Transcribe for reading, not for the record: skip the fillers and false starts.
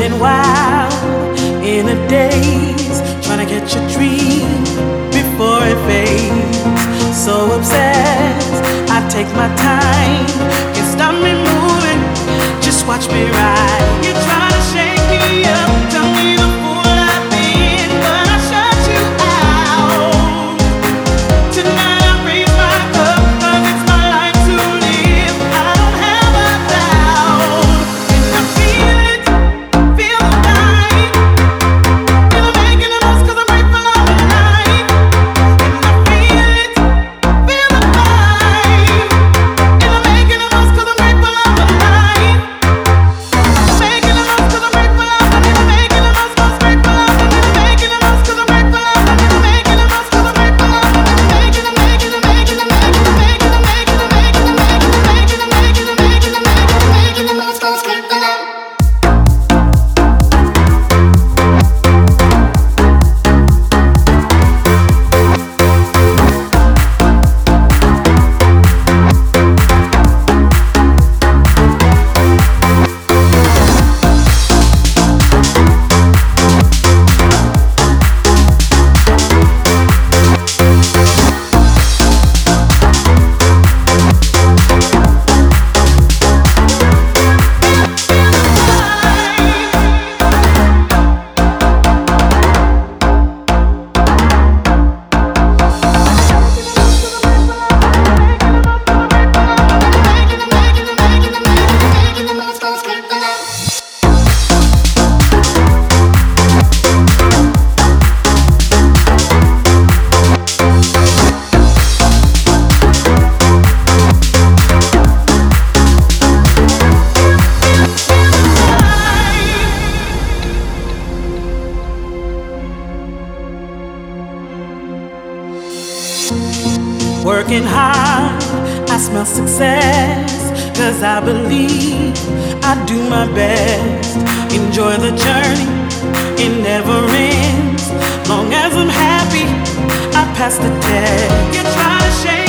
running wild in a daze, trying to catch a dream before it fades. So obsessed, I take my time, can't stop me moving, just watch me ride. You try to shake me up, tell me the fool I've been, but I shut you out. Tonight I raise my cup, 'cause it's my life to live, I don't have a doubt. And I feel it, feel the night, and I'm making the most 'cause I'm grateful I'm alive. And I feel it, feel the night, and I'm making the most 'cause I'm grateful I'm alive. Making the most 'cause I'm grateful I'm alive. Making the most 'cause I'm grateful I'm alive. Making the most 'cause I'm grateful I'm alive. Making the most 'cause I'm grateful I'm alive. Making the making the making the making the making the making the making the making the making the making the making the making the most 'cause I'm grateful I'm. Working hard, I smell success, 'cause I believe I do my best. Enjoy the journey, it never ends. Long as I'm happy, I pass the test. You try to shake